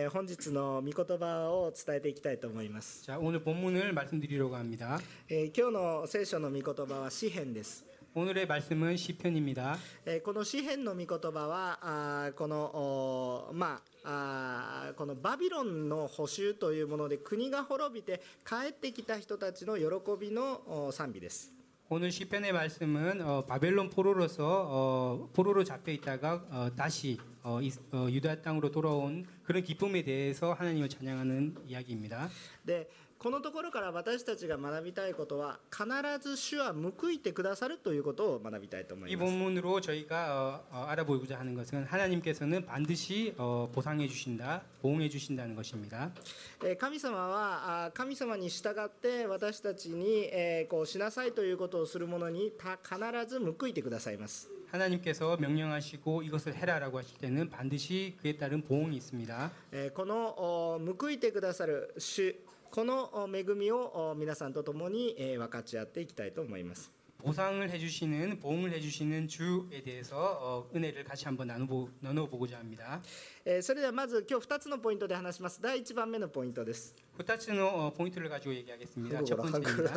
本日の御言葉を伝えていきたいと思います。 자, 오늘 본문을 말씀드리려고 합니다. 今日の聖書の御言葉は詩編です。 오늘의 말씀은 시편입니다. この詩編の御言葉はこのバビロンの捕囚というもので国が滅びて帰ってきた人たちの喜びの賛美です。 오늘 시편의 말씀은 바벨론 포로로서 포로로 잡혀 있다가 다시 유다 땅으로 돌아온 그런 기쁨에 대해서 하나님을 찬양하는 이야기입니다. でこのところから私たちが学びたいことは必ず主は報いてくださるということを学びたいと思い 이 ます。 본문으로 저희가 알아보고자 하는 것은 하나님께서는 반드시 보상해 주신다, 보응해 주신다는 것입니다. 神様は神様に従って私たちにこうしなさいということをする者に必ず報いてくださいます。 하나님께서 명령하시고 이것을 해라라고 하실 때는 반드시 그에 따른 보응이 있습니다. この報いてくださる主、この恵みを皆さんと共に分かち合っていきたいと思います。 보상을 해주시는, 보응을 해주시는 주에 대해서 은혜를 같이 한번 나눠보고자 합니다. それではまず今日2つのポイントで話します。第1番目のポイントです。 2つの포인트를 가지고 얘기하겠습니다. 첫 번째입니다.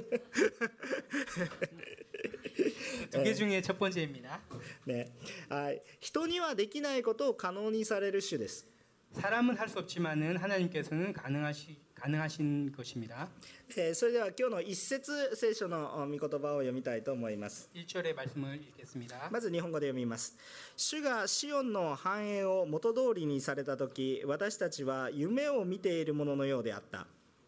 두 개 중에 첫 번째입니다. ね、人にはできないことを可能にされる主です。 사람은 할 수 없지만은 하나님께서는 가능하신 것입니다. それでは今日の一節聖書の御言葉を読みたいと思います。 1절의 말씀을 읽겠습니다. まず日本語で読みます。主がシオンの繁栄を元通りにされたとき、私たちは夢を見ているもののようであった。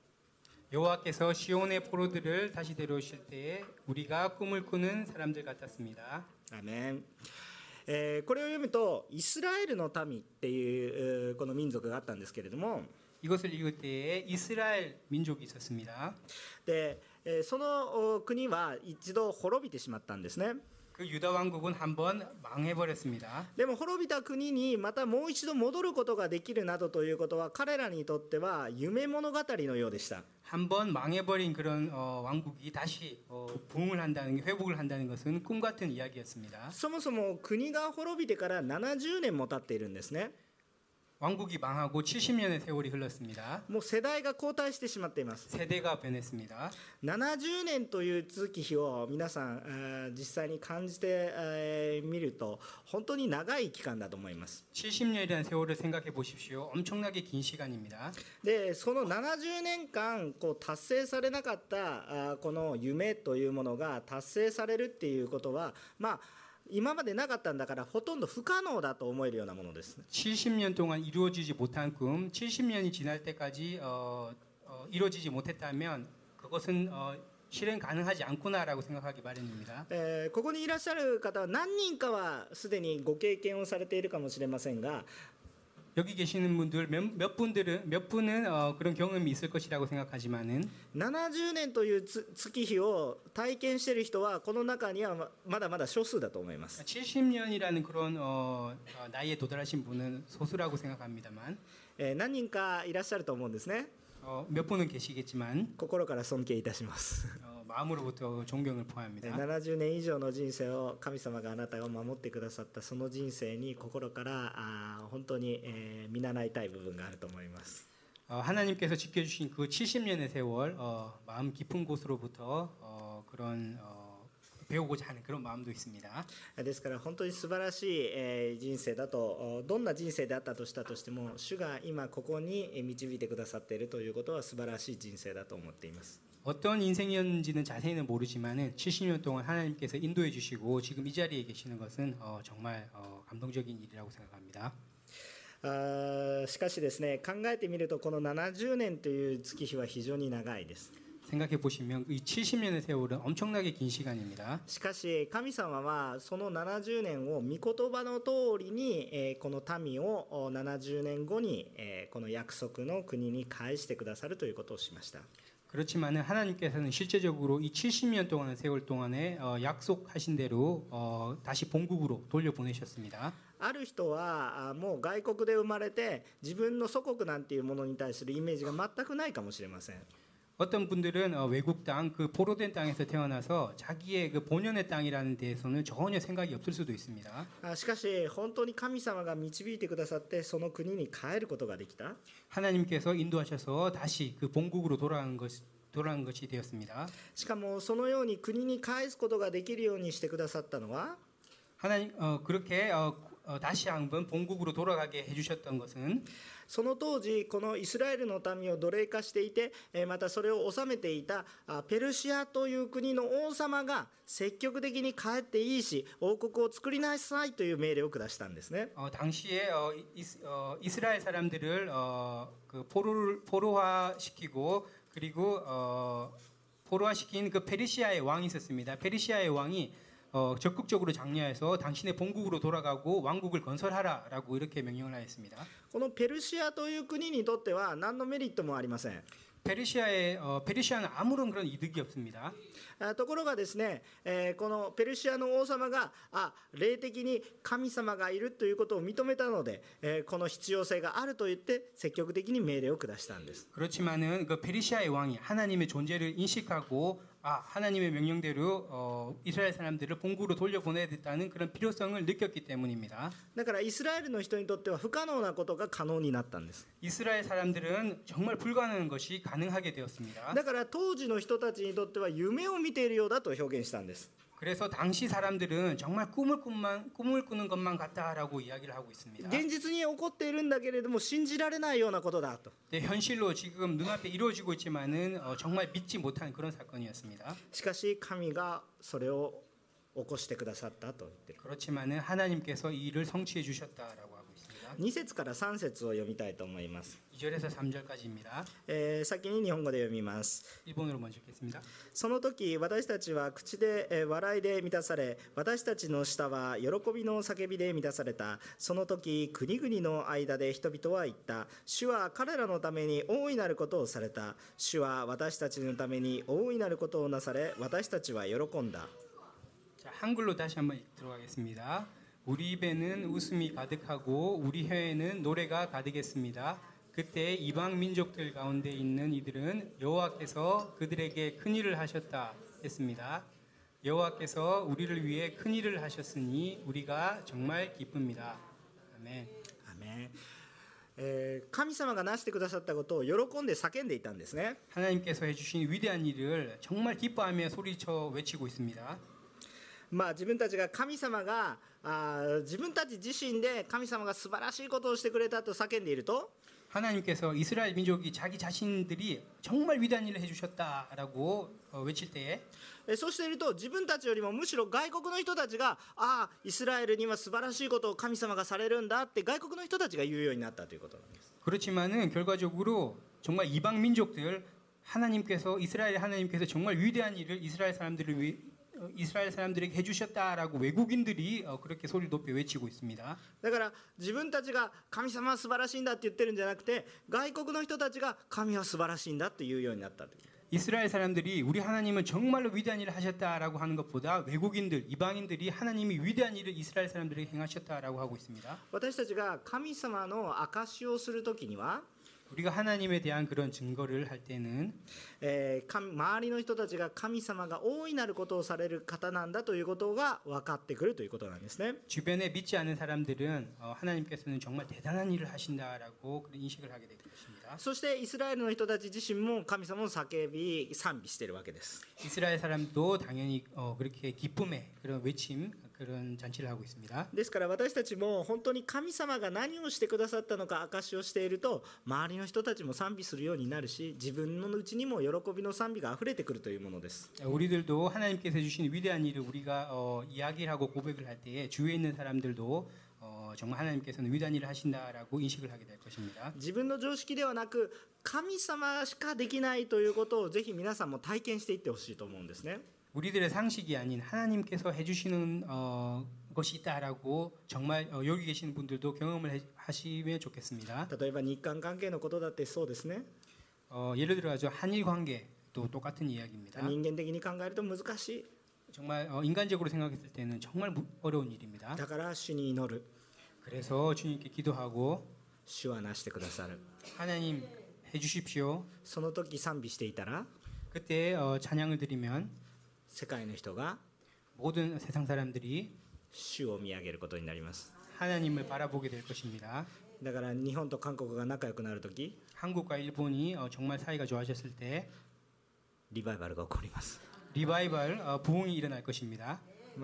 여호와께서 시온의 포로들을 다시 데려오실 때에 우리가 꿈을 꾸는 사람들 같았습니다. アメン。これを読むとイスラエルの民っていうこの民族があったんですけれども、 이것을 읽을 때에 이스라엘 민족이 있었습니다. でその国は一度滅びてしまったんですね。 그 유다 왕국은 한번 망해버렸습니다. でも滅びた国にまたもう一度戻ることができるなどということは彼らにとっては夢物語のようでした。 한번 망해버린 그런 왕국이 다시 부흥을 한다는 게, 회복을 한다는 것은 꿈 같은 이야기였습니다. そもそも国が滅びてから70年も経っているんですね。 왕국이 망하고 70년의 세월이 흘렀습니다. もう世代が交代してしまっています。 세대가 변했습니다. 70年という月日を皆さん実際に感じてみると本当に長い期間だと思います。 70년이라는 세월을 생각해 보십시오. 엄청나게 긴 시간입니다. でその70年間こう達成されなかったこの夢というものが達成されるっていうことは今までなかったんだからほとんど不可能だと思えるようなものです。 70년 동안 이루어지지 못한 꿈, 70년이 지날 때까지 이루어지지 못했다면 그것은 실행 가능하지 않구나라고 생각하기 마련입니다. ここにいらっしゃる方は何人かはすでにご経験をされているかもしれませんが、 여기 계시는 분들 몇 분은 그런 경험이 있을 것이라고 생각하지만은 70年という月日を体験している人はこの中にはまだまだ少数だと思います。 70년이라는 그런 나이에 도달하신 분은 소수라고 생각합니다만 何人かいらっしゃると思うんですね。 몇 분은 계시겠지만 心から尊敬いたします。 마음으로부터 존경을 포함합니다. 70年以上の人生を神様があなたを守ってくださったその人生に心から本当に見習いたい部分があると思います。 하나님께서 지켜주신 그 70년의 세월 마음 깊은 곳으로부터 그런 배우고자 하는 그런 마음도 있습니다. ですから本当に素晴らしい人生だと、どんな人生であったとしたとしても主が今ここに導いてくださっているということは素晴らしい人生だと思っています。 어떤 인생이었는지는 자세히는 모르지만은 70년 동안 하나님께서 인도해 주시고 지금 이 자리에 계시는 것은 정말 감동적인 일이라고 생각합니다. しかしですね、考えてみるとこの70年という月日は非常に長いです。 생각해 보시면 이 70년의 세월은 엄청나게 긴 시간입니다. しかし神様はその70年を御言葉の通りにこの民を70年後にこの約束の国に返してくださるということをしました。 그렇지만은 하나님께서는 실제적으로 이 70년 동안의 세월 동안에 약속하신 대로 다시 본국으로 돌려보내셨습니다. ある人はもう外国で生まれて自分の祖国なんていうものに対するイメージが全くないかもしれません。 어떤 분들은 외국 땅, 그 포로된 땅에서 태어나서 자기의 그 본연의 땅이라는 데에서는 전혀 생각이 없을 수도 있습니다. しかし本当に神様が導いてくださってその国に帰ることができた。 하나님께서 인도하셔서 다시 그 본국으로 돌아간 것이 되었습니다. しかもそのように国に帰すことができるようにしてくださったのは 하나님 그렇게 다시 한번 본국으로 돌아가게 해주셨던 것은 その当時このイスラエルの民を奴隷化していてまたそれを治めていたペルシアという国の王様が積極的に帰っていいし王国を作りなさいという命令を下したんですね。 당시에 이스라엘 사람들을 그 포로화시키고 그리고 포로화시킨 그 페르시아의 왕이 있었습니다. 페르시아의 왕이 적극적으로 장려해서 당신의 본국으로 돌아가고 왕국을 건설하라라고 이렇게 명령을 하였습니다. このペルシアという国にとっては何のメリットもありません。 페르시아는 아무런 그런 이득이 없습니다. ところがですね、このペルシアの王様が霊的に神様がいるということを認めたので、この必要性があると言って積極的に命令を下したんです。 그렇지만은 그 페르시아의 왕이 하나님의 존재를 인식하고 하나님의 명령대로 이스라엘 사람들을 본국으로 돌려보내야 됐다는 그런 필요성을 느꼈기 때문입니다. だからイスラエルの人にとっては不可能なことが可能になったんです。 이스라엘 사람들은 정말 불가능한 것이 가능하게 되었습니다. だから当時の人たちにとっては夢を見ているようだと表現したんです。 그래서 당시 사람들은 정말 꿈을 꾸는 것만 같다라고 이야기를 하고 있습니다. 現実に起こっているんだけれども信じられないようなことだと。 현실로 지금 눈앞에 이루어지고 있지만은 정말 믿지 못한 그런 사건이었습니다. しかし神がそれを起こしてくださったと言ってる。 그렇지만은 하나님께서 이 일을 성취해 주셨다라고 하고 있습니다. 2節から3節を読みたいと思います。 2절에서 3절까지입니다. 先に日本語で読みます。 일본어로 먼저 읽겠습니다. その時私たちは口で笑いで満たされ私たちの舌は喜びの叫びで満たされた。その時国々の間で人々は言った。主は彼らのために大いなることをされた。主は私たちのために大いなることをなされ私たちは喜んだ。 자, 한글로 다시 한번 들어가겠습니다. 우리 입에는 웃음이 가득하고 우리 혀에는 노래가 가득했습니다. 그때 이방 민족들 가운데 있는 이들은 여호와께서 그들에게 큰 일을 하셨다 했습니다. 여호와께서 우리를 위해 큰 일을 하셨으니 우리가 정말 기쁩니다. 아멘. アメン。神様がなしてくださったことを喜んで叫んでいたんですね。 하나님께서 해주신 위대한 일을 정말 기뻐하며 소리쳐 외치고 있습니다. 自分たちが神様が自分たち自身で神様が素晴らしいことをしてくれたと叫んでいると 하나님께서 이스라엘 민족이 자기 자신들이 정말 위대한 일을 해주셨다라고 외칠 때에 そうしていると自分たちよりもむしろ外国の人たちがイスラエルには素晴らしいことを神様がされるんだって外国の人たちが言うようになったということなんです。 그렇지만은 결과적으로 정말 이방 민족들 이스라엘 하나님께서 정말 위대한 일을 이스라엘 사람들에게 해주셨다라고 외국인들이 그렇게 소리 높여 외치고 있습니다. だから自分たちが神様は素晴らしいんだって言ってるんじゃなくて外国の人たちが神は素晴らしいんだって言うようになったという。 이스라엘 사람들이 우리 하나님은 정말로 위대한 일을 하셨다라고 하는 것보다 외국인들, 이방인들이 하나님이 위대한 일을 이스라엘 사람들에게 행하셨다라고 하고 있습니다. 私たちが神様の証しをするときには 우리가 하나님에 대한 그런 증거를 할 때는 周りの人たちが神様が大いなることをされる方なんだということが分かってくるということなんですね。 주변에 믿지 않은 사람들은 하나님께서는 정말 대단한 일을 하신다라고 그런 인식을 하게 될 것입니다. そしてイスラエルの人たち自身も神様を叫び賛美しているわけです。 이스라엘 사람도 당연히 그렇게 기쁨의 그런 외침 그런 잔치를 하고 있습니다. ですから私たちも本当に神様が何をしてくださったのか証しをしていると周りの人たちも賛美するようになるし自分のうちにも喜びの賛美があふれてくるというものです。 우리들도 하나님께서 해주신 위대한 일을 우리가 이야기를 하고 고백을 할 때에 주위에 있는 사람들도 정말 하나님께서는 위대한 일을 하신다라고 인식을 하게 될 것입니다. 自分の常識ではなく神様しかできないということをぜひ皆さんも体験していってほしいと思うんですね。 우리들의 상식이 아닌 하나님께서 해주시는 것이 있다라고 정말 여기 계시는 분들도 경험을 하시면 좋겠습니다. 例えば日韓関係のことだってそうですね。 예를 들어서 한일 관계도 똑같은 이야기입니다. 人間的に考えると難しい。 정말 인간적으로 생각했을 때는 정말 어려운 일입니다. だから主に祈る。 그래서 주님께 기도하고 主はなしてくださる。 하나님 해주십시오. その時賛美していたら 그때 찬양을 드리면 世界の人が 모든 세상 사람들이 主を見上げることになります。 하나님을 바라보게 될 것입니다. だから日本と韓国が仲良くなる時 한국과 일본이 정말 사이가 좋아졌을 때 リバイバルが起こります。 리바이벌 부흥이 일어날 것입니다.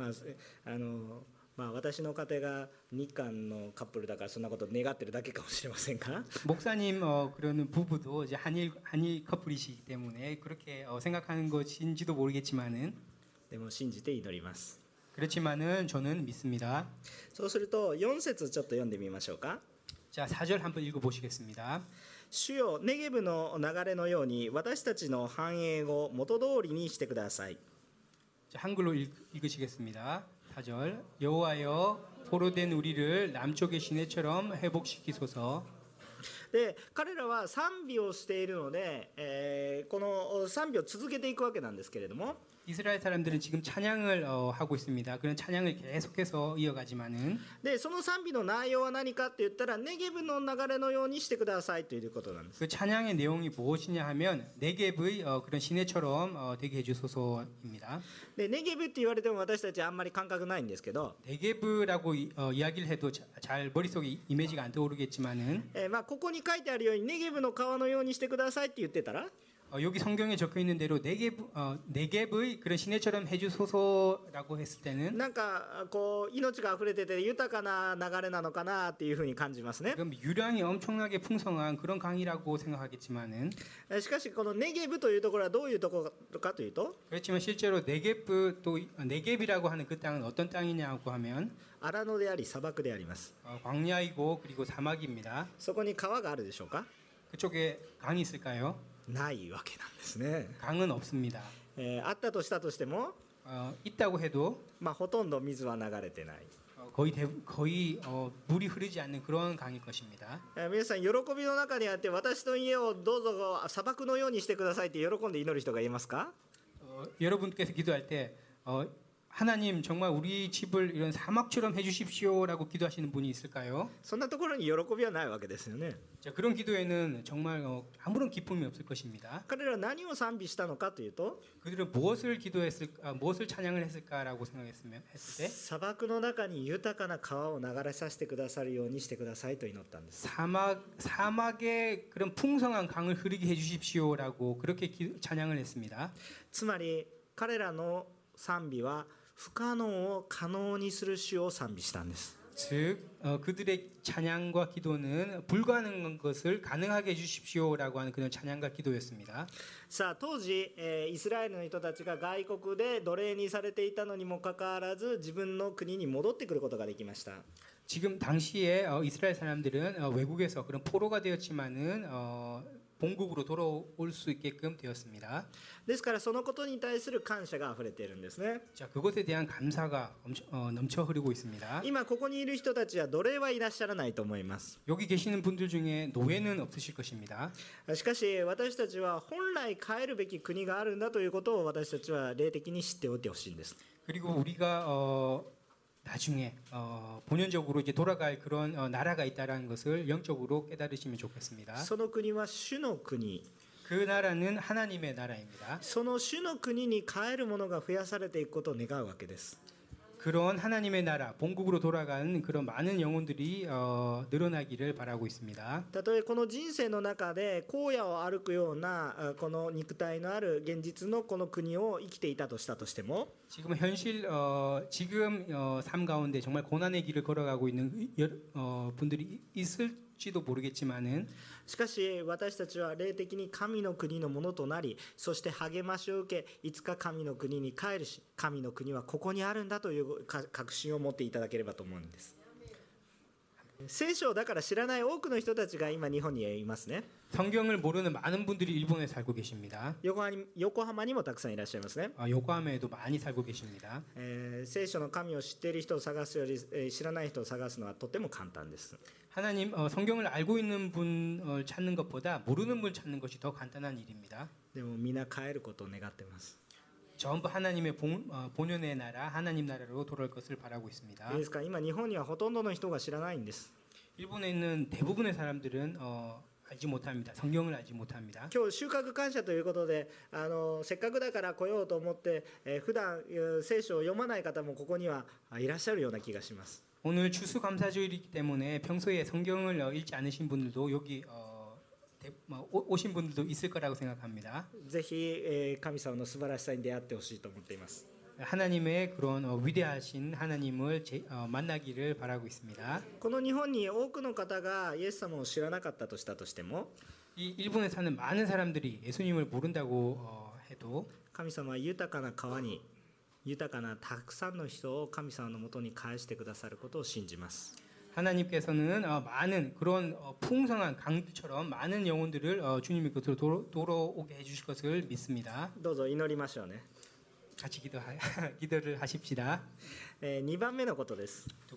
私の家庭が日韓のカップルだからそんなこと願ってるだけかもしれませんが 목사님 그러는 부부도 이제 한일 커플이시기 때문에 그렇게 생각하는 것인지도 모르겠지만은 でも信じて祈ります。 그렇지만은 저는 믿습니다. そうすると4節ちょっと読んでみましょうか。 자, 4절 한번 읽어 보시겠습니다. 主よネゲブの流れのように私たちの繁栄を元通りにしてください。 자, 한글로 읽으시겠습니다. 4절 여호와여 포로된 우리를 남쪽의 시내처럼 회복시키소서. で彼らは賛美をしているので、この賛美を続けていくわけなんですけれども 이스라엘 사람들은 지금 찬양을 하고 있습니다. 그런 찬양을 계속해서 이어가지만은 でその賛美の内容は何かって言ったらネゲブの流れのようにしてくださいということなんです。 그 찬양의 내용이 무엇이냐 하면 네겝의 그런 시내처럼 되게 해주소서입니다. でネゲブって言われても私たちあんまり感覚ないんですけど、 네겝라고 이야기를 해도 잘 머릿속에 이미지가 안 떠오르겠지만은 ここに書いてあるようにネゲブの川のようにしてくださいって言ってたら 여기 성경에 적혀 있는 대로 네겝의 그런 시내처럼 해주소서라고 했을 때는 なんかこう命が溢れてて豊かな流れなのかなっていうふうに感じますね。 그럼 유량이 엄청나게 풍성한 그런 강이라고 생각하겠지만은 しかしこのネゲブというところはどういうところかというと 그렇지만 실제로 네겝이라고 하는 그 땅은 어떤 땅이냐고 하면 荒野であり砂漠であります。 광야이고 그리고 사막입니다. そこに川があるでしょうか？ 그쪽에 강이 있을까요? ないわけなんですね。 강은 없습니다. あったとしたとしても、 있다고 해도 ほとんど水は流れてない。 거의 물이 흐르지 않는 그런 강일 것입니다. 皆さん喜びの中にあって私の家をどうぞ砂漠のようにしてくださいって喜んで祈る人がいますか？ 여러분께서 기도할 때 하나님 정말 우리 집을 이런 사막처럼 해주십시오라고 기도하시는 분이 있을까요? そんなところに喜びはないわけですよね。 자, 그런 기도에는 정말 아무런 기쁨이 없을 것입니다. 彼らは何を賛美したのかというと 그들은 무엇을 찬양을 했을까라고 했을 때 砂漠の中に豊かな川を流れさせてくださるようにしてくださいと祈ったんです。 사막에 그런 풍성한 강을 흐르게 해주십시오라고 그렇게 찬양을 했습니다. つまり彼らの賛美は不可能を可能にする主を賛美したんです。 즉 그들의 찬양과 기도는 불가능한 것을 가능하게 해주십시오라고 하는 그런 찬양과 기도였습니다. さあ当時、イスラエルの人たちが外国で奴隷にされていたのにもかかわらず自分の国に戻ってくることができました。 지금 당시에 이스라엘 사람들은 외국에서 그런 포로가 되었지만은 본국으로 돌아올 수 있게끔 되었습니다. ですからそのことに対する感謝があふれているんですね。 자, 그것에 대한 감사가 넘쳐 흐르고 있습니다. 今ここにいる人たちは奴隷はいらっしゃらないと思います。 여기 계시는 분들 중에 노예는 없으실 것입니다. しかし私たちは本来帰るべき国があるんだということを私たちは霊的に知っておいてほしいんです。 그리고 우리가 나중에 본연적으로 이제 돌아갈 그런 나라가 있다라는 것을 영적으로 깨달으시면 좋겠습니다. その国は主の国。 그 나라는 하나님의 나라입니다. その主の国に帰る者が増やされていくことを願うわけです。 그런 하나님의 나라, 본국으로 돌아가는 그런 많은 영혼들이 늘어나기를 바라고 있습니다. たとえこの人生の中で荒野を歩くようなこの肉体のある現実のこの国を生きていたとしたとしても 지금 지금 삶 가운데 정말 고난의 길을 걸어가고 있는 분들이 있을지도 모르겠지만은 しかし私たちは霊的に神の国のものとなりそして励ましを受けいつか神の国に帰るし神の国はここにあるんだという確信を持っていただければと思うんです。聖書をだから知らない多くの人たちが今日本にいますね。 성경을 모르는 많은 분들이 일본에 살고 계십니다. 横浜にもたくさんいらっしゃいますね。 요코하마에도 많이 살고 계십니다. 聖書の神を知っている人を探すより知らない人を探すのはとても簡単です。 하나님 성경을 알고 있는 분을 찾는 것보다 모르는 분 찾는 것이 더 간단한 일입니다. でも皆帰ることを願ってます。 전부 하나님의 본연의 나라, 하나님 나라로 돌아올 것을 바라고 있습니다. ですから今日本にはほとんどの人が知らないんです。 일본에 있는 대부분의 사람들은 알지 못합니다. 성경을 알지 못합니다. 今日収穫感謝ということでせっかくだから来ようと思って、普段聖書を読まない方もここにはいらっしゃるような気がします。 오늘 추수감사주일이기 때문에 평소에 성경을 읽지 않으신 분들도 여기 오신 분들도 있을 거라고 생각합니다. ぜひ、神様の素晴らしさに出会ってほしいと思っています。 하나님의 그런 위대하신 하나님을 만나기를 바라고 있습니다. この日本に多くの方がイエス様を知らなかったとしたとしても 이 일본에 사는 많은 사람들이 예수님을 모른다고 해도 神様は豊かな川に豊かなたくさんの人を神様のもとに返してくださることを信じます。 하나님께서는 많은 그런 풍성한 강들처럼 많은 영혼들을 주님의 곁으로 돌아오게 해주실 것을 믿습니다. どうぞ祈りましょうね。 같이 기도를 하십시다. 2番目のことです。 두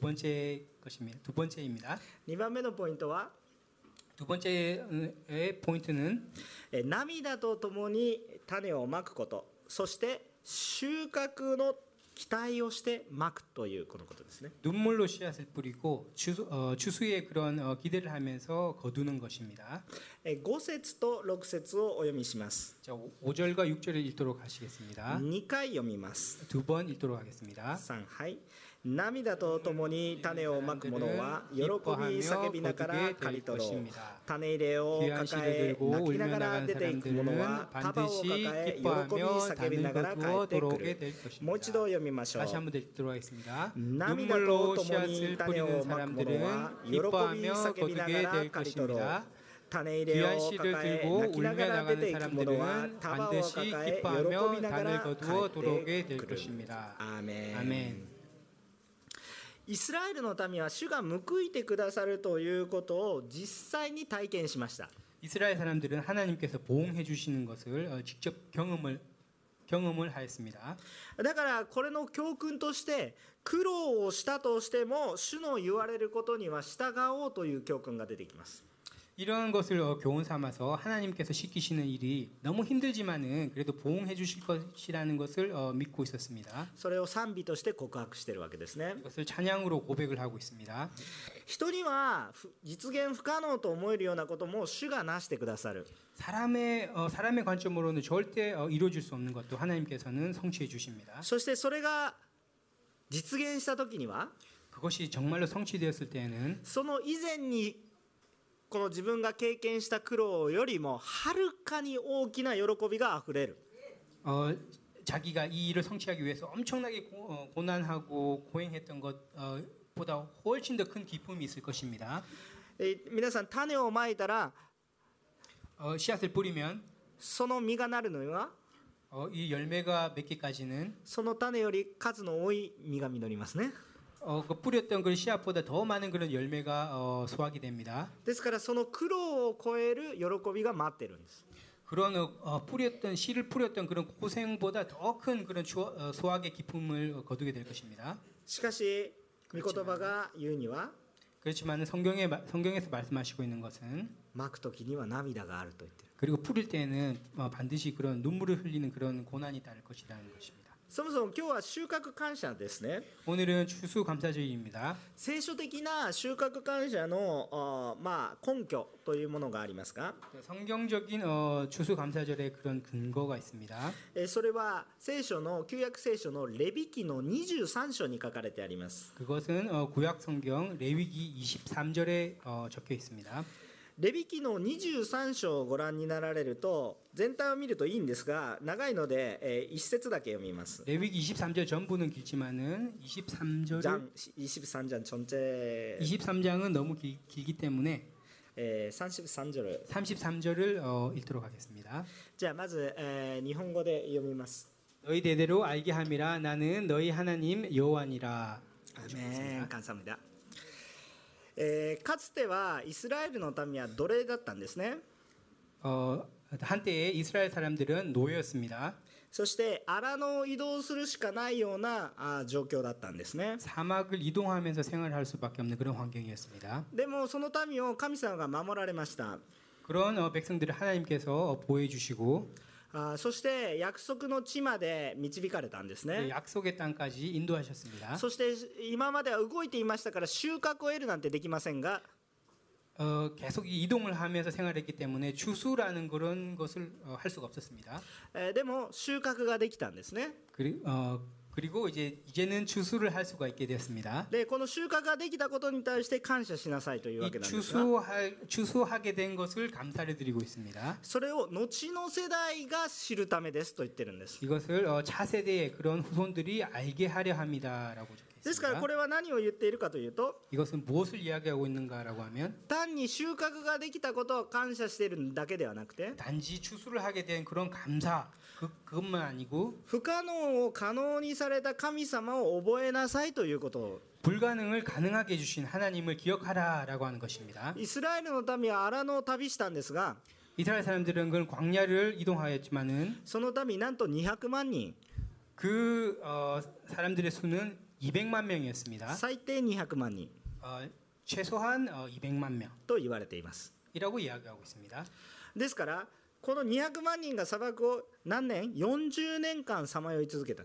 번째입니다. 2番目のポイントは 두 번째의 포인트는 涙とともに種をまくこと、そして収穫の期待をしてまくというこのことですね。 눈물로 씨앗을 뿌리고 추수의 그런 기대를 하면서 거두는 것입니다. 5節と6節をお読みします。 자, 5절과 6절을 읽도록 하시겠습니다. 2回読みます。 두 번 읽도록 하겠습니다. 3、はい。涙とともに種をまく者は喜び叫びながら刈り取ろう。種入れを抱え泣きながら出ていく者は束を抱え喜び叫びながら帰ってくる。もう一度読みましょう。 다시 한번 읽도록 하겠습니다. 涙とともに種をまく者は喜び叫びながら刈り取ろう。種入れを抱え泣きながら出ていく者は束を抱え喜びながら帰ってくる。アーメン。イスラエルの民は主が報いてくださるということを実際に体験しました。 이스라엘 사람들은 하나님께서 보응해 주시는 것을 직접 경험을 하였습니다. だからこれの教訓として苦労をしたとしても主の言われることには従おうという教訓が出てきます。 이러한 것을 교훈 삼아서 하나님께서 시키시는 일이 너무 힘들지만은 그래도 보응해 주실 것이라는 것을 믿고 있었습니다. それを賛美として告白しているわけですね。 이것을 찬양으로 고백을 하고 있습니다. 人には実現不可能と思えるようなことも主がなしてくださる。 사람의 관점으로는 절대 이루어질 수 없는 것도 하나님께서는 성취해 주십니다. そしてそれが実現した時には 그것이 정말로 성취되었을 때에는 その以前にこの自分が経験した苦労よりもはるかに大きな喜びがあふれる。 자기가 이 일을 성취하기 위해서 엄청나게 고난하고 고행했던 것보다 훨씬 더 큰 기쁨이 있을 것입니다. 皆さん種をまいたら 씨앗을 뿌리면 その実がなるのは 이 열매가 맺기까지는 その種より数の多い実が実りますね。 그 뿌렸던 그 씨앗보다 더 많은 그런 열매가 수확이 됩니다. ですからその苦労を超える喜びが待ってるんです。 그런 씨를 뿌렸던 그런 고생보다 더 큰 그런 수확의 기쁨을 거두게 될 것입니다. しかし御言葉が言うには 그렇지만 성경에서 말씀하시고 있는 것은 まく時には涙があると言っている。 그리고 뿌릴 때에는 반드시 그런 눈물을 흘리는 그런 고난이 따를 것이라는 것입니다. そもそも今日は収穫感謝ですね。 오늘은 추수감사주일입니다. 聖書的な収穫感謝の根拠というものがありますが、 성경적인 추수감사절의 그런 근거가 있습니다. それは聖書の旧約聖書のレビ記の23章に書かれてあります。 그것은 구약 성경 레위기 23절에 적혀 있습니다. レビ記の23章をご覧になられると全体を見るといいんですが長いので一節だけ読みます。 레위기 23절 전부는 길지만은 23장 전체 23장은 너무 길기 때문에 33절 33절을 읽도록 하겠습니다. じゃあまず日本語で読みます。 너희 대대로 알게 함이라 나는 너희 하나님 여호와니라. 아멘. 감사합니다. かつてはイスラエルの民は奴隷だったんですね。 한때에 이스라엘 사람들은 노예였습니다. そして荒野を移動するしかないような状況だったんですね。 사막을 이동하면서 생활할 수밖에 없는 그런 환경이었습니다. でもその民を神様が守られました。 그런 백성들을 하나님께서 보호해 주시고 そして約束の地まで導かれたんですね。 약속의 땅까지 인도하셨습니다. そして今までは動いていましたから収穫を得るなんてできませんが 계속 이동을 하면서 생활했기 때문에 추수라는 그런 것을 할 수가 없었습니다. でも収穫ができたんですね。 그리고 이제는 추수를 할 수가 있게 되었습니다. でこの収穫ができたことに対して感謝しなさいというわ 이 けなんですが、 추수하게 된 것을 감사를 드리고 있습니다. それを後の世代が知るためですと言ってるんです。 이것을 차세대의 그런 후손들이 알게 하려 합니다라고 ですから 적혀있습니다. これは何を言っているかというと、 이것은 무엇을 이야기하고 있는가라고 하면 単に収穫ができたことを感謝しているだけではなくて、 단지 추수를 하게 된 그런 감사 그것만 아니고 不可能を可能にされた神様を覚えなさいということを、 불가능을 가능하게 해주신 하나님을 기억하라라고 하는 것입니다. イスラエルの民は荒野を旅したんですが、 이스라엘 사람들은 그 광야를 이동하였지만은 その民なんと200万人、 그 사람들의 수는 200만 명이었습니다. 最低200万人 최소한 200만 と言われています。 명이라고 이야기하고 있습니다. ですからこの200万人が砂漠を何年 ?40 年間さまよい続けた。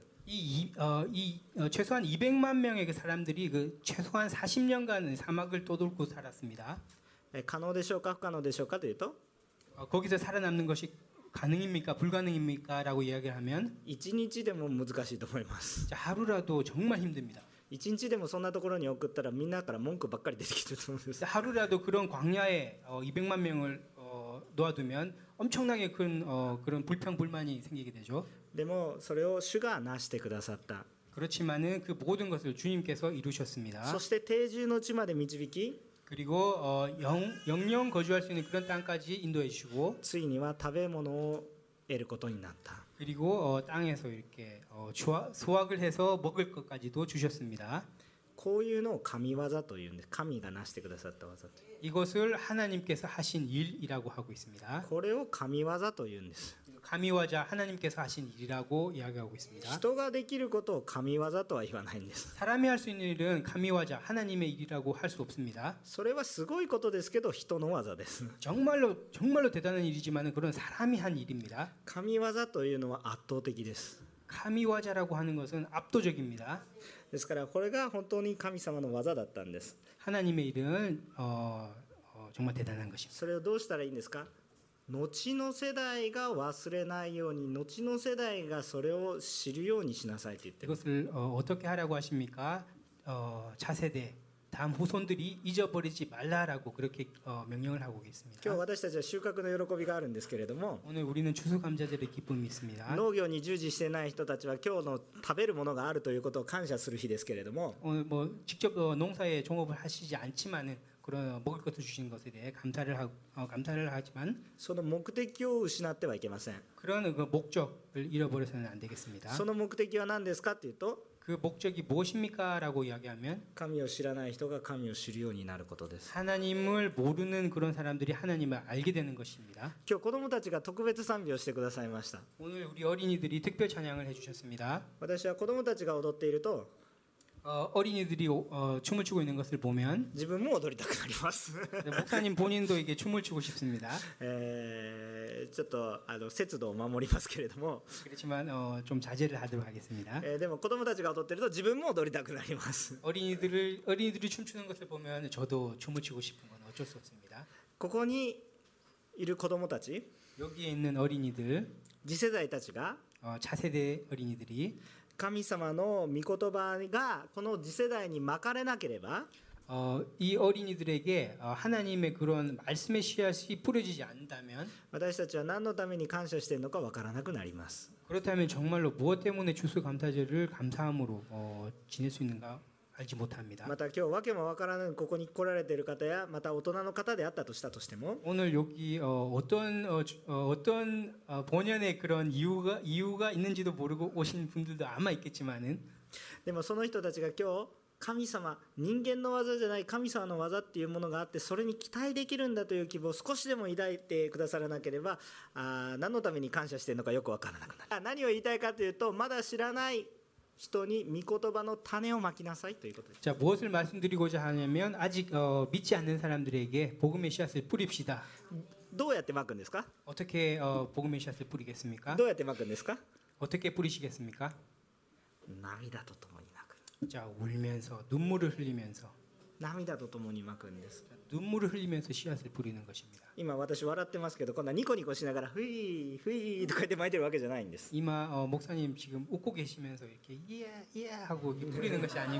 최소한 200만 명의 그 사람들이 그 최소한 40년간 사막을 떠돌고 살았습니다. 可能でしょうか不可能でしょうかというと、 거기서 살아남는 것이 가능입니까 불가능입니까라고 이야기를 하면 1日でも難しいと思います。 하루라도 정말 힘듭니다. 1日でもそんなところに送ったらみんなから文句ばっかり出てきてると思うんです。 하루라도 그런 광야에 200만 명을 놓아두면 엄청나게 큰 그런 불평 불만이 생기게 되죠. でもそれを主がなしてくださった。 그렇지만은 그 모든 것을 주님께서 이루셨습니다. そして定住の地まで導き、 그리고 영영 거주할 수 있는 그런 땅까지 인도해 주시고 ついには食べ物を得ることになった。 그리고 땅에서 이렇게 수확을 해서 먹을 것까지도 주셨습니다. こういうのを神業というんです。神がなしてくださった技。 이것을 하나님께서 하신 일이라고 하고 있습니다. これを神業というんです。 가미와자 하나님께서 하신 일이라고 이야기하고 있습니다. 人ができることを神業とは言わないんです。 사람이 할 수 있는 일은 가미와자 하나님의 일이라고 할 수 없습니다. それはすごいことですけど人の技です。 정말로 대단한 일이지만 그런 사람이 한 일입니다. 神業というのは圧倒的です。 가미와자라고 하는 것은 압도적입니다. ですからこれが本当に神様の技だったんです。 하나님의 일은 정말 대단한 것입니다. それをどうしたらいいんですか。後の世代が忘れないように、後の世代がそれを知るようにしなさいと言ってる。 이것을 어떻게 하라고 하십니까? 차세대 다음 후손들이 잊어버리지 말라라고 그렇게 명령을 하고 今日 있습니다. 私たちは収穫の喜びがあるんですけれども、 오늘 우리는 추수감사절의 기쁨이 있습니다. 農業に従事してない人たちは今日の食べるものがあるということを感謝する日ですけれども、 오늘 뭐 직접 농사에 종업을 하시지 않지만은 그런 먹을 것을 주신 것에 대해 감사를 하지만 その目的を失ってはいけません。 그런 그 목적을 잃어버려서는 안 되겠습니다. その目的は何ですかというと、 그 목적이 무엇입니까라고 이야기하면 神を知らない人が神を知るようになることです。 하나님을 모르는 그런 사람들이 하나님을 알게 되는 것입니다. 今日子どもたちが特別賛美をしてくださいました。 오늘 우리 어린이들이 특별 찬양을 해주셨습니다. 私は子どもたちが踊っていると 어린이들이 춤을 추고 있는 것을 보면 自分も踊りたくなります。 목사님 본인도 이게 춤을 추고 싶습니다. ちょっと節度を守りますけれども、 그렇지만 좀 자제를 하도록 하겠습니다. でも子どもたちが踊っていると自分も踊りたくなります。 어린이들이 춤추는 것을 보면 저도 춤을 추고 싶은 건 어쩔 수 없습니다. ここにいる子どもたち、 여기에 있는 어린이들, 次世代たちが 차세대 어린이들이 神様の御言葉がこの次世代にまかれなければ、 이 어린이들에게 하나님의 그런 말씀의 씨앗이 뿌려지지 않는다면 私たちは何のために感謝しているのかわからなくなります。 그렇다면 정말로 무엇 때문에 추수감사절을 감사함으로 지낼 수 있는가 알지 못합니다. また今日訳もわからぬここに来られている方やまた大人の方であったとしたとしても、 오늘 여기 어떤 본연의 그런 이유가 있는지도 모르고 오신 분들도 아마 있겠지만은 でもその人たちが今日神様、人間の技じゃない神様の技っていうものがあって、それに期待できるんだという希望を少しでも抱いてくださらなければ、何のために感謝しているのかよくわからなくなる。何を言いたいかというと、まだ知らない人に御言葉の種をまきなさいということです。 자, 무엇을 말씀드리고자 하냐면 아직 믿지 않는 사람들에게 복음의 씨앗을 뿌립시다. どうやってまくんですか？ 어떻게 복음의 씨앗을 뿌리겠습니까? どうやってまくんですか？ 어떻게 뿌리시겠습니까? 涙とともにまく。 자, 울면서 눈물을 흘리면서 涙とともにまくんです。 눈물을 흘리면서 씨앗을 뿌리는 것입니다. 今私笑ってますけど、こんなニコニコしながらふいふいとか言って巻いてるわけじゃないんです。 이마 목사님 지금 웃고 계시면서 이렇게 이야 이야 하고 이렇게 뿌리는 것이 아니고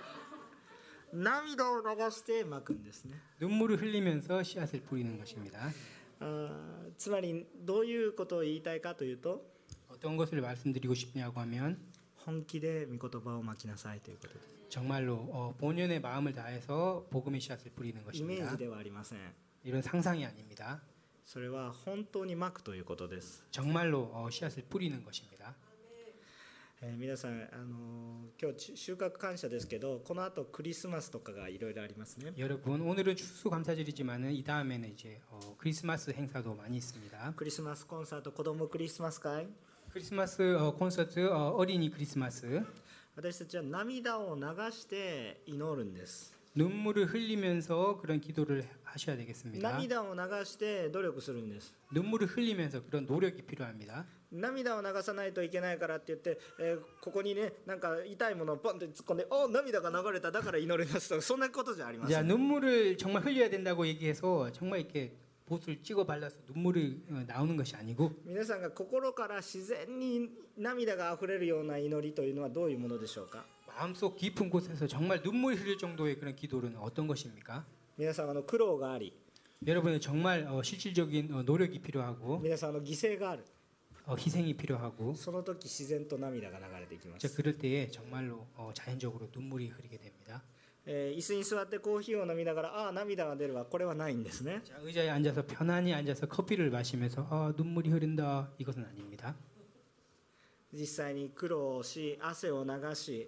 涙を流してまくんですね。 눈물을 흘리면서 씨앗을 뿌리는 것입니다. つまりどういうことを言いたいかというと、 어떤 것을 말씀드리고 싶냐고 하면 本気で御言葉をまきなさいということです。 정말로 본연의 마음을 다해서 복음의 씨앗을 뿌리는 イメー 것입니다. ジではありません。 이런 상상이 아닙니다. それは本当にまくということです。 정말로 씨앗을 뿌리는 것입니다. 皆さん、今日収穫感謝ですけど、この後クリスマスとかがいろいろありますね。 여러분 오늘은 추수감사절이지만은 이 다음에는 이제 크리스마스 행사도 많이 있습니다. クリスマスコンサート、子供クリスマス会。 크리스마스 콘서트 어린이 크리스마스 私たちは涙を流して祈るんです。 눈물을 흘리면서 그런 기도를 하셔야 되겠습니다. 涙を流して努力するんです。 눈물을 흘리면서 그런 노력이 필요합니다. 涙を流さないといけないからって言って、ここにね、なんか痛いものをポンって突っ込んで、涙が流れただから祈りますと、そんなことじゃありませ 자, ん。 눈물을 정말 흘려야 된다고 얘기해서 정말 이렇게 봇을 찍어 발라서 눈물이 나오는 것이 아니고 皆さんが心から自然に涙があふれるような祈りというのはどういうものでしょうか。 마음속 깊은 곳에서 정말 눈물이 흘릴 정도의 그런 기도는 어떤 것입니까? 皆さん苦労があり、 여러분은 정말 실질적인 노력이 필요하고 皆さん犠牲がある。 희생이 필요하고 その時自然と涙が流れていきま 자, す。 그럴 때에 정말로 자연적으로 눈물이 흐르게 됩니다. 椅子に座ってコーヒーを飲みながら涙が出るわ、これはないんですね。 자, 의자에 앉아서 편안히 앉아서 커피를 마시면서 눈물이 흐른다 이것은 아닙니다. 実際に苦労し汗を流し、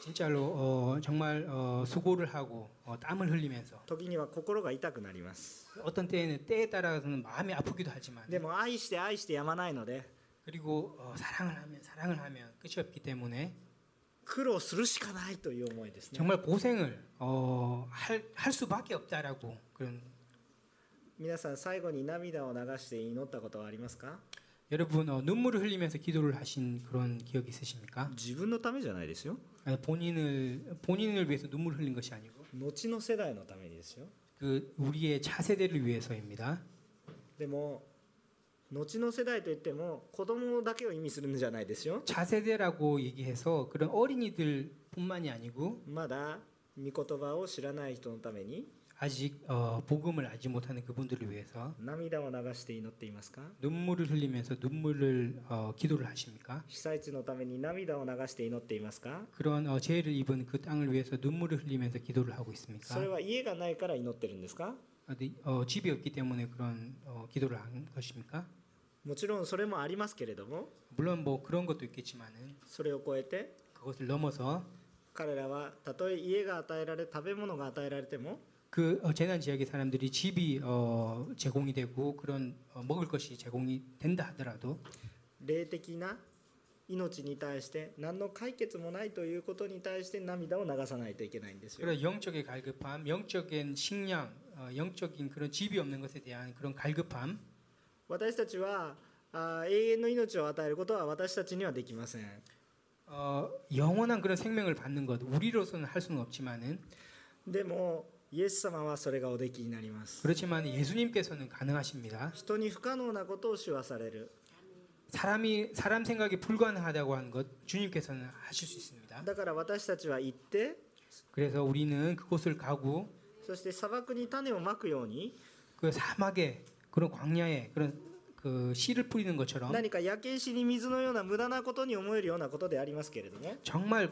진짜로 정말 수고를 하고 땀을 흘리면서 時には心が痛くなります。 어떤 때에는 때에 따라서는 마음이 아프기도 하지만 でも愛して愛してやまないので 그리고 사랑을 하면 끝이 없기 때문에 苦労するしかないという思いですね。 정말 고생을 할 수밖에 없다라고 그런 皆さん最後に涙を流して祈ったことはありますか。 여러분 눈물을 흘리면서 기도를 하신 그런 기억 있으십니까? 自分のためじゃないですよ。 아니, 본인을 위해서 눈물을 흘린 것이 아니고 後の世代のためにですよ。 그 우리의 차세대를 위해서입니다. でも後の世代といっても子供だけを意味するんじゃないですよ。 차세대라고 얘기해서 그런 어린이들뿐만이 아니고 まだ御言葉を知らない人のために 아직 복음을 알지 못하는 그분들을 위해서 涙を流して祈っていますか。 눈물을 흘리면서 눈물을 기도를 하십니까? 被災地のために涙を流して祈っていますか。 그런 죄를 입은 그 땅을 위해서 눈물을 흘리면서 기도를 하고 있습니까? それは家がないから祈ってるんですか。 집이 없기 때문에 그런 기도를 한 것입니까? もちろんそれもありますけれども、 물론 뭐 그런 것도 있겠지만은 それを超えて 그것을 넘어서 彼らはたとえ家が与えられ食べ物が与えられても 그 재난 지역의 사람들이 집이 제공이 되고 그런 먹을 것이 제공이 된다 하더라도 霊的な命に対して何の解決もないということに対して涙を流さないといけないんですよ。 그런 영적의 갈급함, 영적인 식량, 영적인 그런 집이 없는 것에 대한 그런 갈급함 私たちは永遠の命を与えることは私たちにはできません。 영원한 그런 생명을 받는 것 우리로서는 할 수는 없지만은 でもイエス様はそれがおできになります。 그렇지만 예수님께서는 가능하십니다. 人に不可能なことを主はされる。 사람 생각이 불가능하다고 하는 것 주님께서는 하실 수 있습니다. だから私たちは行って、 그래서 우리는 그곳을 가고 そして砂漠に種をまくように 그 사막에 그런 광야에 그런 그 씨를 뿌리는 것처럼 何か焼け石に水のような無駄なことに思えるようなことでありますけれども、 정말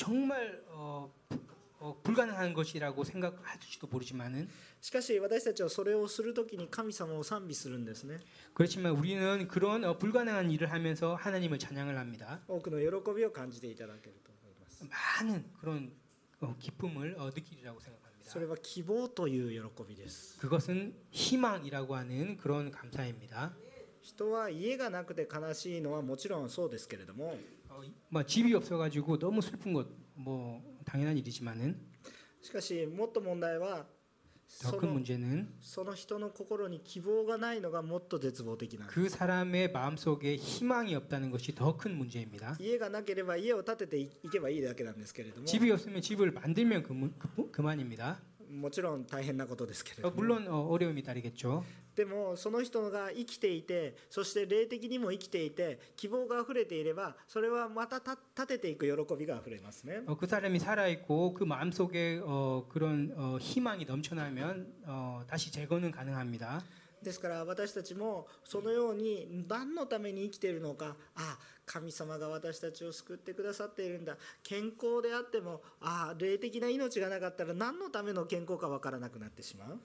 불가능한 것이라고 생각할지도 모르지만은 しかし私たちはそれをするときに神様を賛美するんですね。 그렇지만 우리는 그런 불가능한 일을 하면서 하나님을 찬양을 합니다. 多くの喜びを感じていただけると思います。 많은 그런 기쁨을 느끼리라고 생각합니다. それは希望という喜びです。 그것은 희망이라고 하는 그런 감사입니다. 人は家がなくて悲しいのはもちろんそうですけれども、 집이 없어가지고 너무 슬픈 것 뭐 당연한 일이지만은 しかしもっと問題は 더 큰 문제는 その人の心に希望がないのがもっと絶望的なんです。 그 사람의 마음속에 희망이 없다는 것이 더 큰 문제입니다. 家がなければ家を建てていけばいいだけなんですけれども、 집이 없으면 집을 만들면 그만입니다. もちろん大変なことですけれども 물론 어려움이 따르겠죠. でもその人が生きていてそして霊的にも生きていて希望があふれていればそれはまた立てていく喜びがあふれますね 그 사람이 살아 있고 그 마음 속에 그런 희망이 넘쳐나면 다시 재건은 가능합니다. ですから私たちもそのように何のために生きているのか神様が私たちを救ってくださっているんだ健康であっても霊的な命がなかったら何のための健康か分からなくなってしまう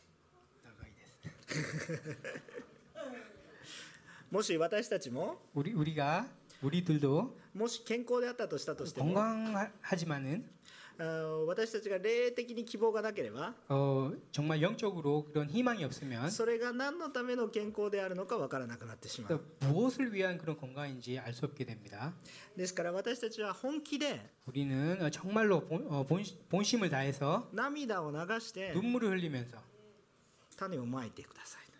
もし私たちも 우리들도 もし健康であったとしたとしても 건강하지만은 私たちが霊的に希望がなければ 정말 영적으로 그런 희망이 없으면 それが何のための健康であるのか分からなくなってしまう 무엇을 위한 그런 건강인지 알 수 없게 됩니다. ですから私たちは本気で 우리는 정말로 본심을 다해서 涙を流して 눈물을 흘리면서 種をまいてください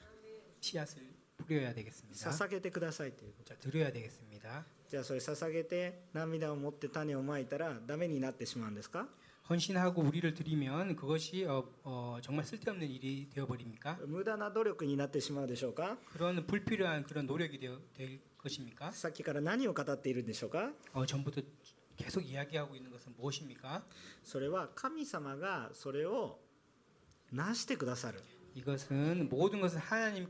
씨앗을 뿌려야 되겠습니다. 捧げてくださいということ 자, 드려야 되겠습니다. じゃあそれ捧げて涙を持って種をまいたらダメになってしまうんですか 헌신하고 우리를 드리면 그것이 정말 쓸데없는 일이 되어버립니까? 無駄な努力になってしまうでしょうか 그런 불필요한 그런 노력이 될 것입니까? さっきから何を語っているんでしょうか 전부터 계속 이야기하고 있는 것은 무엇입니까? それは神様がそれをなしてくださる 이것은 모든 것은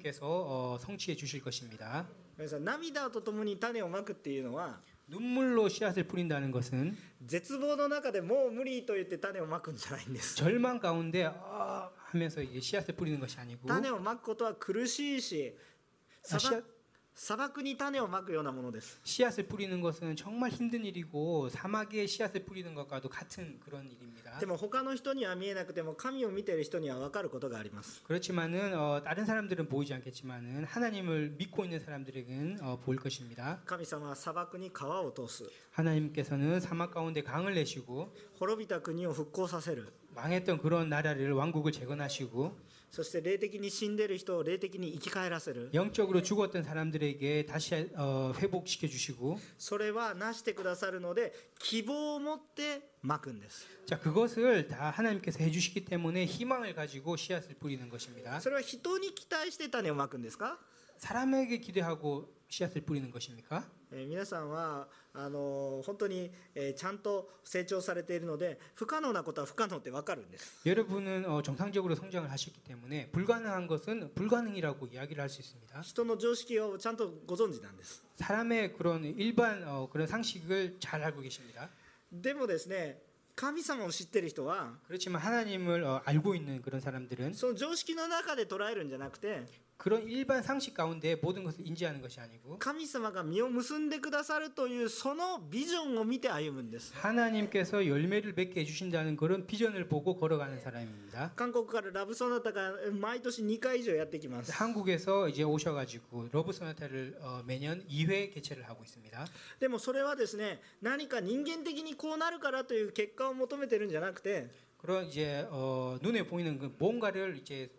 하나님께서 성취해 주실 것입니다. 皆さん涙とともに種をまくっていうのは 눈물로 씨앗을 뿌린다는 것은 絶望の中でもう無理と言って種をまくんじゃないんです 절망 가운데 하면서 이제 씨앗을 뿌리는 것이 아니고 種をまくことは苦しいし砂漠に種をまくようなものです 씨앗을 뿌리는 것은 정말 힘든 일이고 사막에 씨앗을 뿌리는 것과도 같은 그런 일입니다. でも他の人には見えなくても神を見ている人には分かることがあります 그렇지만은 다른 사람들은 보이지 않겠지만은 하나님을 믿고 있는 사람들에게는 보일 것입니다. 神様は砂漠に川を通す 하나님께서는 사막 가운데 강을 내시고 滅びた国を復興させる 망했던 그런 나라를 왕국을 재건하시고 そして霊的に死んでいる人を霊的に生き返らせる 영적으로 죽었던 사람들에게 다시 회복시켜 주시고 それはなしてくださるので希望を持ってまくんです 자 그것을 다 하나님께서 해주시기 때문에 희망을 가지고 씨앗을 뿌리는 것입니다. それは人に期待して種をまくんですか 사람에게 기대하고 씨앗을 뿌리는 것입니까? 皆さんは本当にちゃんと成長されているので不可能なことは不可能って分かるんです 여러분은 정상적으로 성장을 하셨기 때문에 불가능한 것은 불가능이라고 이야기를 할 수 있습니다. 人の常識をちゃんとご存知なんです 사람의 그런 일반 그런 상식을 잘 알고 계십니다. でもですね神様を知っている人は 그렇지만 하나님을 알고 있는 그런 사람들은 その常識の中で捉えるんじゃなくて 그런 일반 상식 가운데 모든 것을 인지하는 것이 아니고 神様が実を結んでくださるというそのビジョンを見て歩むんです 하나님께서 열매를 맺게 해주신다는 그런 비전을 보고 걸어가는 사람입니다. 韓国からラブソナタが毎年2回以上やってきます 한국에서 이제 오셔가지고 러브 소나타를 매년 2회 개최를 하고 있습니다. でもそれはですね何か人間的にこうなるからという結果を求めてるんじゃなくて 그런 이제 눈에 보이는 그 뭔가를 이제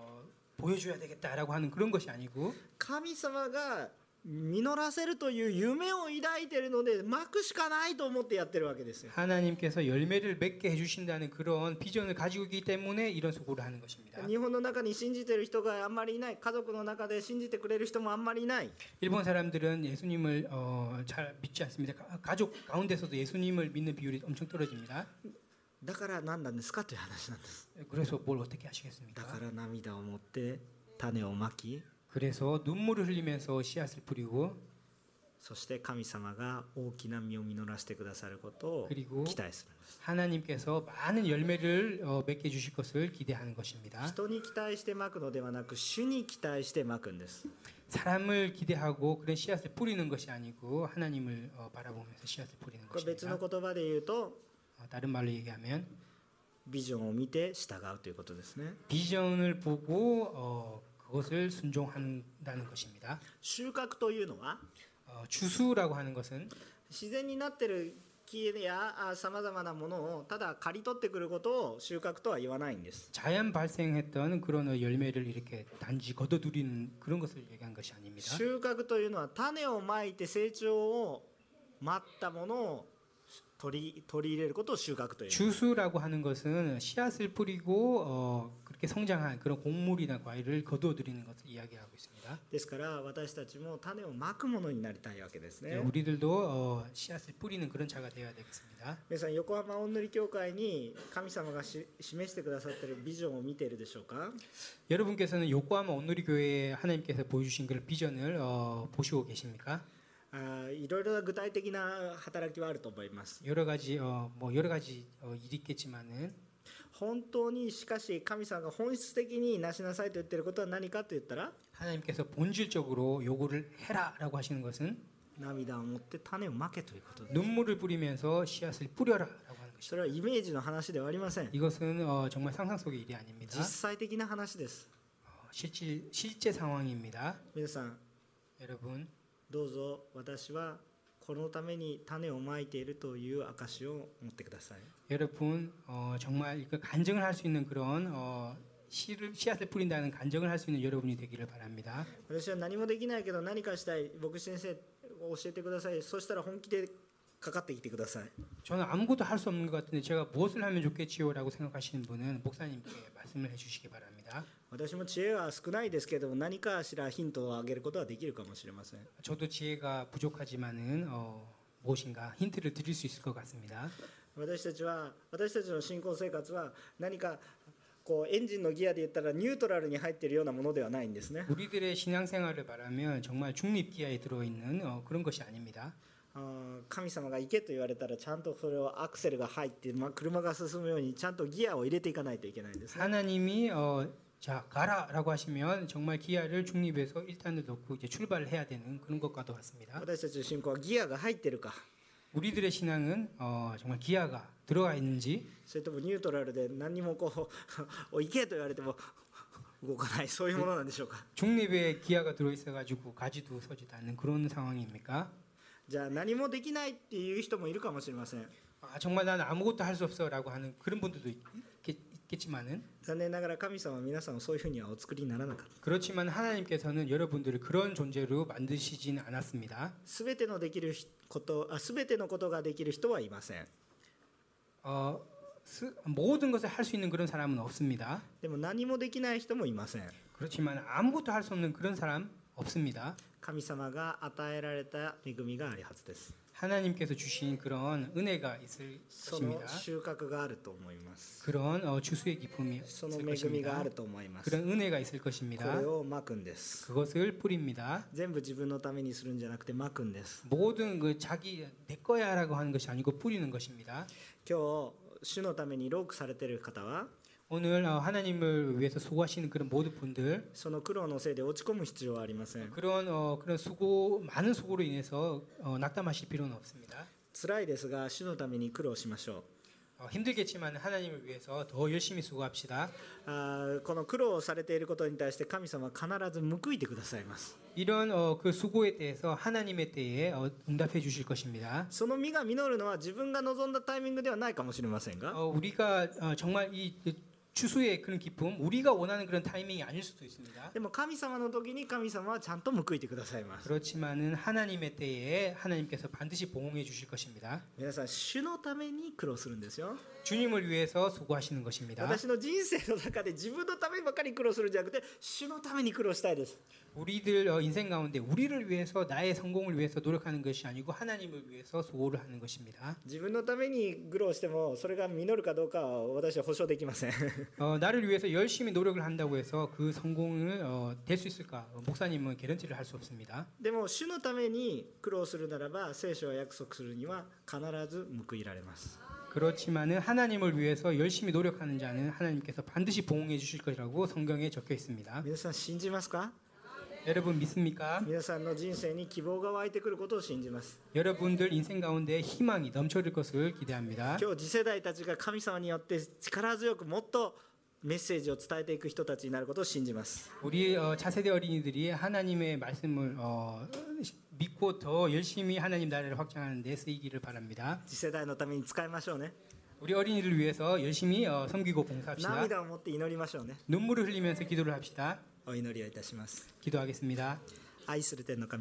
보여줘야 되겠다라고 하는 그런 것이 아니고 神様が実らせるという夢を抱いているのでまくしかないと思ってやってるわけですよ 하나님께서 열매를 맺게 해주신다는 그런 비전을 가지고 있기 때문에 이런 수고를 하는 것입니다. 日本の中に信じている人があんまりいない家族の中で信じてくれる人もあんまりいない 일본 사람들은 예수님을 잘 믿지 않습니다. 가족 가운데서도 예수님을 믿는 비율이 엄청 떨어집니다. だから何なんですかという話なんです 그래서 뭘 어떻게 だ 하시겠습니까? から涙を持って種をまき 그래서 눈물을 흘리면서 씨앗을 뿌리고 そして神様が大きな実を実らせてくださることを 그리고 期待するんです 하나님께서 많은 열매를 맺게 해주실 것을 기대하는 것입니다. 人に期待してまくのではなく主に期待してまくんです 사람을 기대하고 그런 씨앗을 뿌리는 것이 아니고 하나님을 바라보면서 씨앗을 뿌리는 これ別 것입니다. の言葉で言うと 다른 말로 얘기하면 ビジョンを見て従うということですね 비전을 보고 그것을 순종한다는 것입니다. 収穫というのは 추수라고 하는 것은 自然になっている木やさまざまなものをただ刈り取ってくることを収穫とは言わないんです 자연 발생했던 그런 열매를 이렇게 단지 거둬들이는 그런 것을 얘기한 것이 아닙니다. 収穫というのは種をまいて成長を待ったものを取り入れることを収穫という。 주수라고 하는 것은 씨앗을 뿌리고 그렇게 성장한 그런 곡물이나 과일을 거두어들이는 것을 이야기하고 있습니다. ですから私たちも種をまくものになりたいわけですね。 우리들도 씨앗을 뿌리는 그런 자가 되어야 되겠습니다. 皆さん横浜おんぬり教会に神様が示してくださっているビジョンを見ているでしょうか。 여러분께서는 요코하마 온누리 교회에 하나님께서 보여주신 그 비전을 보시고 계십니까? いろいろな具体的な働きはあると思います。 여러 가지 일이 있겠지만은 本当にしかし神様が本質的になしなさいと言っていることは何かと言ったら、 하나님께서 본질적으로 요구를 해라라고 하시는 것은 涙を持って種をまけということです。 눈물을 뿌리면서 씨앗을 뿌려라라고 하는 そ 것입니다. れはイメージの話ではありません。 이것은 정말 상상 속의 일이 아닙니다. 実際的な話です。 실제 상황입니다. 皆さん 여러분 どうぞ私はこのために種をまいているという証を持ってください。 여러분 정말 그 간증을 할 수 있는 그런 씨앗을 뿌린다는 간증을 할 수 있는 여러분이 되기를 바랍니다. 私は何もできないけど何かしたい、牧師先生教えてください。そしたら本気でかかってきてください。 저는 아무것도 할 수 없는 것 같은데 제가 무엇을 하면 좋겠지요라고 생각하시는 분은 목사님께 말씀을 해주시기 바랍니다. 私も知恵は少ないですけども何かしらヒントをあげることはできるかもしれません。 저도 지혜가 부족하지만은 무엇인가 힌트를 드릴 수 있을 것 같습니다. 私たちの信仰生活は何かこうエンジンのギアで言ったらニュートラルに入っているようなものではないんですね。 우리들의 신앙생활을 말하면 정말 중립 기아에 들어있는 그런 것이 아닙니다. 神様が行けと言われたらちゃんとそれをアクセルが入って、車が進むようにちゃんとギアを入れていかないといけないんですね。 하나님이 자 가라라고 하시면 정말 기아를 중립에서 1단을 놓고 이제 출발을 해야 되는 그런 것과도 같습니다. 私たちの信仰はギアが入っているか、 우리들의 신앙은 정말 기아가 들어가 있는지 それともニュートラルで何にもこう行けと言われても動かない、そういうものなんでしょうか。 중립에 기아가 들어있어가지고 가지도 서지도 않는 그런 상황입니까? じゃあ何もできないっていう人もいるかもしれません。 정말 나는 아무것도 할 수 없어라고 하는 그런 분들도 있겠지만은 残念ながら神様は皆さんをそういうふうにはお作りにならなかった。 그렇지만 하나님께서는 여러분들을 그런 존재로 만드시진 않았습니다. すべてのことができる人はいません。 모든 것을 할 수 있는 그런 사람은 없습니다. でも何もできない人もいません。 그렇지만 아무것도 할 수 없는 그런 사람 없습니다. 神様が与えられた恵みがあるはずです。 하나님께서 주신 그런 은혜가 있을 その 것입니다. 収穫があると思います。 그런 주수의 기쁨이 その 있을 恵みがあ 것입니다. ると思います。 그런 은혜가 있을 こ 것입니다. れをまくんです。 그것을 뿌립니다. 全部自分のためにするんじゃなくてまくんです。 모든 그 자기 내 거야라고 하는 것이 아니고 뿌리는 것입니다. 今日主のために労苦されている方は 오늘 하나님을 위해서 수고하시는 그런 모든 분들 その苦労のせいで落ち込む必要はありません。 그런 많은 수고로 인해서 낙담하실 필요는 없습니다. 辛いですが主のために苦労しましょう。 힘들겠지만 하나님을 위해서 더 열심히 수고합시다. この苦労をされていることに対して神様は必ず報いてくださいます。 이런 그 수고에 대해서 하나님의 때에 응답해 주실 것입니다. その実が実るのは自分が望んだタイミングではないかもしれませんが、 우리가 정말 이 추수의 그런 기쁨, 우리가 원하는 그런 타이밍이 아닐 수도 있습니다. でも神様の時に神様はちゃんと報いてくださいます。 그렇지만은 하나님의 때에 하나님께서 반드시 보응해 주실 것입니다. 皆さん主のために苦労するんですよ。 주님을 위해서 수고하시는 것입니다. 私の人生の中で自分のためばかり苦労するんじゃなくて主のために苦労したいです。 우리들 인생 가운데 우리를 위해서 나의 성공을 위해서 노력하는 것이 아니고 하나님을 위해서 수고를 하는 것입니다. 自分のために苦労してもそれが実るかどうかは私は保証できません。 나를 위해서 열심히 노력을 한다고 해서 그 성공을 될 수 있을까? 목사님은 개런티를 할 수 없습니다. でも主のために苦労するならば聖書は約束するには必ず報いられます。 그렇지만은 하나님을 위해서 열심히 노력하는 자는 하나님께서 반드시 보응해 주실 것이라고 성경에 적혀 있습니다. 皆さん信じますか？ 여러분 믿습니까? 皆さんの人生に希望が湧いてくることを信じます。 여러분들 인생 가운데 희망이 넘쳐질 것을 기대합니다. 今日次世代たちが神様によって力強くもっとメッセージを伝えていく人たちになることを信じます。 우리 차세대 어린이들이 하나님의 말씀을 믿고 더 열심히 하나님 나라를 확장하는 데 쓰이기를 바랍니다. 次世代のために使いましょうね。 우리 어린이를 위해서 열심히 섬기고 봉사합시다. 涙を持って祈りましょうね。 눈물을 흘리면서 기도를 합시다. お祈りをいたします。 기도하겠습니다. 愛する天の神